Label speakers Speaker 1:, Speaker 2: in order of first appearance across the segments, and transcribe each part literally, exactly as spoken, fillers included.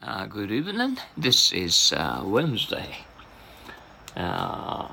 Speaker 1: Uh, good evening. This is uh, Wednesday. Uh,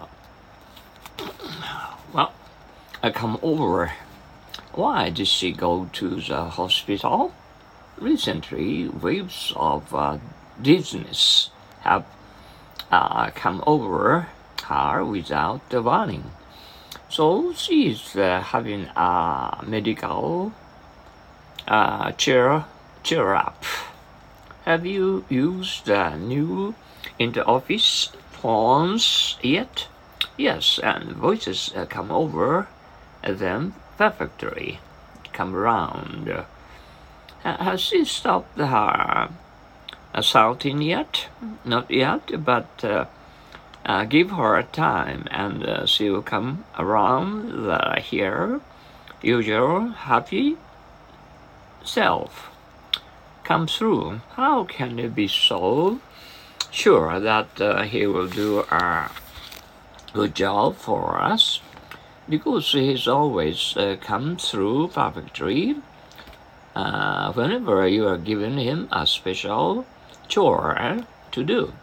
Speaker 1: well, I come over. Why did she go to the hospital? Recently, waves of uh, dizziness have uh, come over her without warning. So she is uh, having a medical uh, cheer, cheer up. Have you used the new inter-office phones yet? Yes, and voices uh, come over them perfectly. Come around. Uh, has she stopped her assaulting yet? Not yet, but uh, uh, give her time and uh, she'll come around the here usual happy self. Come through. How can you be so sure that uh, he will do a good job for us? Because he's always uh, come through perfectly. Uh, whenever you are giving him a special chore to do,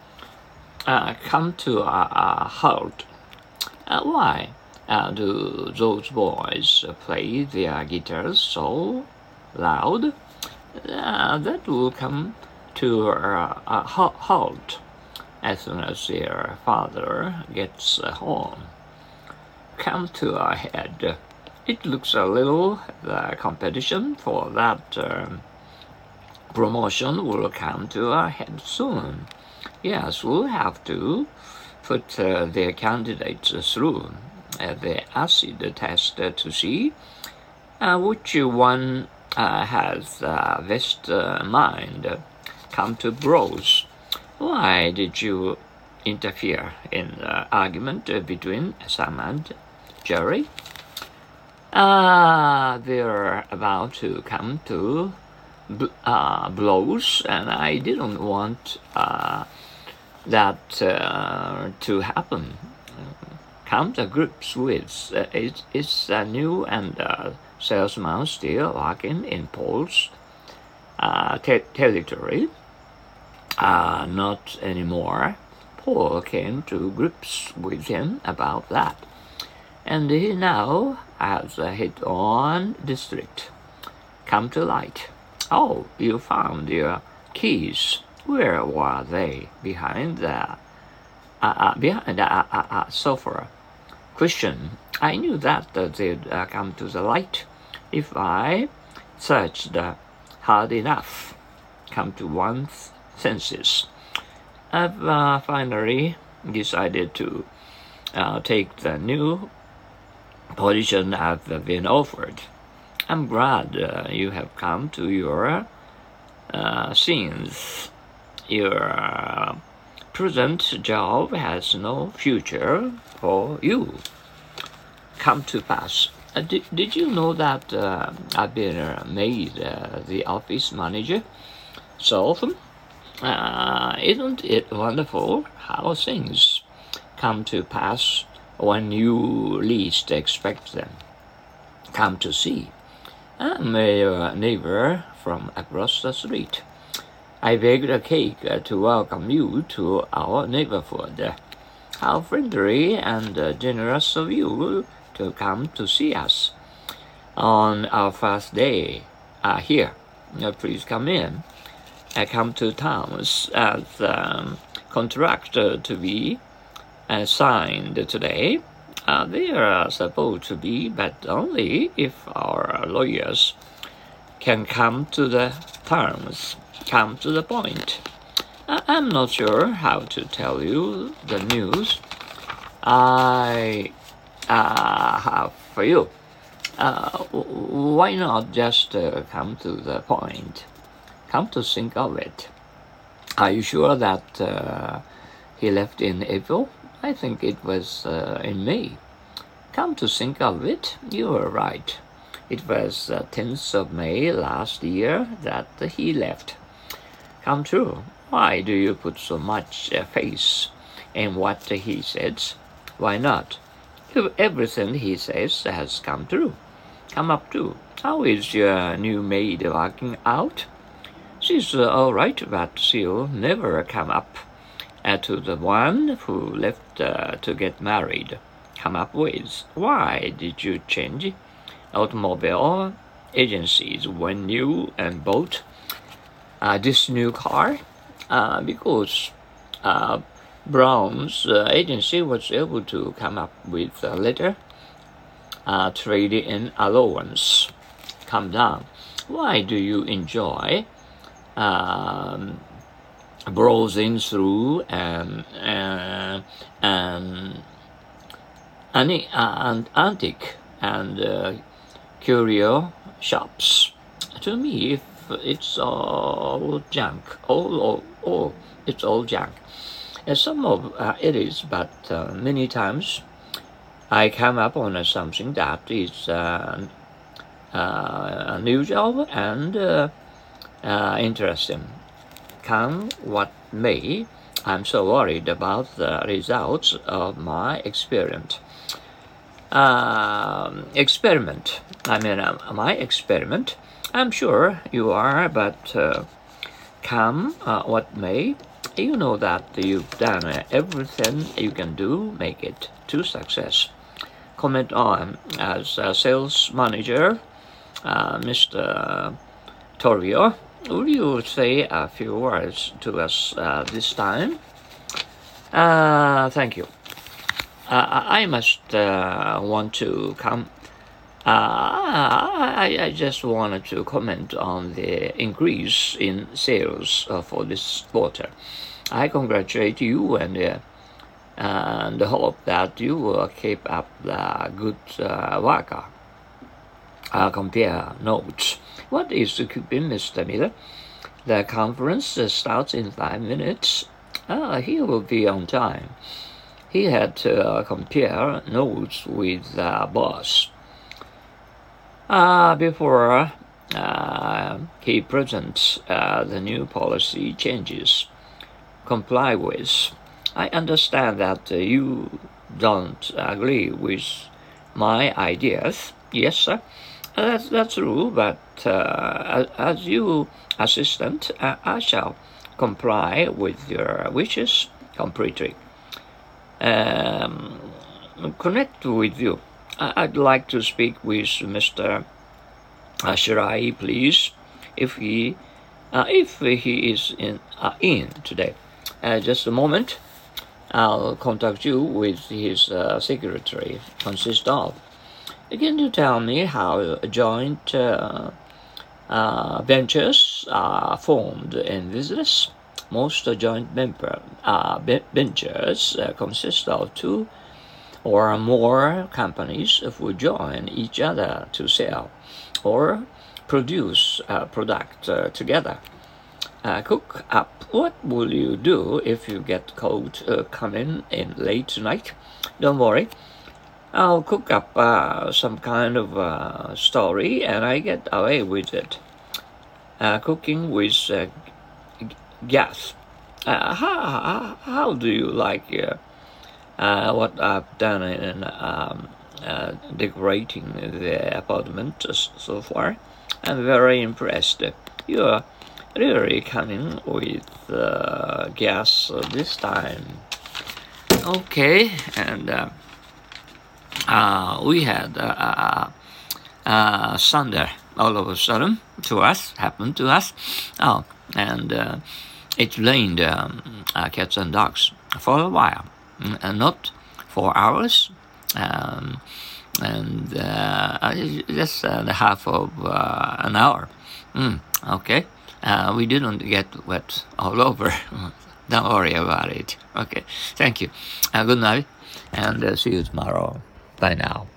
Speaker 1: uh, come to a, a halt. Uh, why uh, do those boys play their guitars so loud? Uh, that will come to uh, a halt as soon as their father gets home. Come to a head. It looks a little the competition for that um, promotion will come to a head soon. Yes, we'll have to put uh, their candidates through uh, the acid test uh, to see uh, which one Uh, has uh, best uh, mind. Come to bros. Why did you interfere in the argument uh, between Sam and Jerry? Uh, they're about to come to bl uh, blows, and I didn't want uh, that uh, to happen. Come to grips with uh, it, it's uh, new and uh, salesman still working in Paul's uh, te territory. Uh, not anymore. Paul came to grips with him about that. And he now has a hit-on district. Come to light. Oh, you found your keys. Where were they? Behind the, uh, uh, behind the uh, uh, uh, sofa. Question. I knew that uh, they'd uh, come to the light if I searched uh, hard enough. Come to one's senses. I've uh, finally decided to uh, take the new position I've been offered. I'm glad uh, you have come to your uh, scenes. Your uh, present job has no future for you. Come to pass. Uh, did, did you know that uh, I've been uh, made uh, the office manager so often? Uh, isn't it wonderful how things come to pass when you least expect them? Come to see. I'm a uh, neighbor from across the street. I baked a cake uh, to welcome you to our neighborhood. How friendly and uh, generous of you to come to see us on our first day uh, here. Uh, please come in. I come to towns as um, contract uh, to be uh, signed today. Uh, they are supposed to be, but only if our lawyers can come to the terms, come to the point. I I'm not sure how to tell you the news I uh, have for you. Uh, why not just uh, come to the point? Come to think of it. Are you sure that uh, he left in April? I think it was uh, in May. Come to think of it, you were right. It was the tenth of May last year that he left. Come true. Why do you put so much uh, faith in what he says? Why not? If everything he says has come true. Come up to. How is your new maid working out? is uh, all right, but she'll never come up uh, to the one who left uh, to get married. Come up with. Why did you change automobile agencies when you and bought uh, this new car? Uh, because uh, Brown's uh, agency was able to come up with a letter uh, trade-in allowance. Calm down. Why do you enjoy um, browsing through and uh, and any uh, antique and uh, curio shops? To me, if it's all junk, all, all, all it's all junk. And some of uh, it is, but uh, many times I come up on uh, something that is uh, uh, unusual and uh, uh, interesting. Come what may, I'm so worried about the results of my experiment. Uh, experiment. I mean, uh, my experiment. I'm sure you are, but uh, come uh, what may, you know that you've done everything you can do, make it to success. Comment on as a sales manager, uh, Mister Torio. Will you say a few words to us uh, this time? Uh, thank you. Uh, I must uh, want to come. Uh, I, I just wanted to comment on the increase in sales uh, for this quarter. I congratulate you and uh, and hope that you will keep up the good uh, work. Uh, compare notes. What is the coupon, Mister Miller? The conference uh, starts in five minutes. Uh, he will be on time. He had to uh, compare notes with the uh, boss uh, before uh, he presents uh, the new policy changes. Comply with. I understand that uh, you don't agree with my ideas. Yes, sir. That's, that's true, but uh, as you assistant, uh, I shall comply with your wishes completely. Um, connect with you. I'd like to speak with Mister Shirai, please, if he, uh, if he is in, uh, in today. Uh, just a moment. I'll contact you with his uh, secretary. Consist of. Can you tell me how joint uh, uh, ventures are formed in business? Most joint member uh, ventures uh, consist of two or more companies who join each other to sell or produce a product uh, together. Uh, cook up. What will you do if you get caught uh, coming in late tonight? Don't worry. I'll cook up uh, some kind of uh, story and I get away with it. Uh, cooking with uh, g- gas. Uh, how, how do you like uh, uh, what I've done in um, uh, decorating the apartment so far? I'm very impressed. You're really coming with uh, gas this time. Okay, and uh, uh, we had uh, uh, uh, thunder all of a sudden to us, happened to us. Oh, and uh, it rained um, uh, cats and dogs for a while, and not for hours, um, and uh, just uh, the half of uh, an hour. Mm, okay. Uh, we didn't get wet all over. Don't worry about it. Okay, thank you. Uh, good night, and uh, see you tomorrow. Bye now.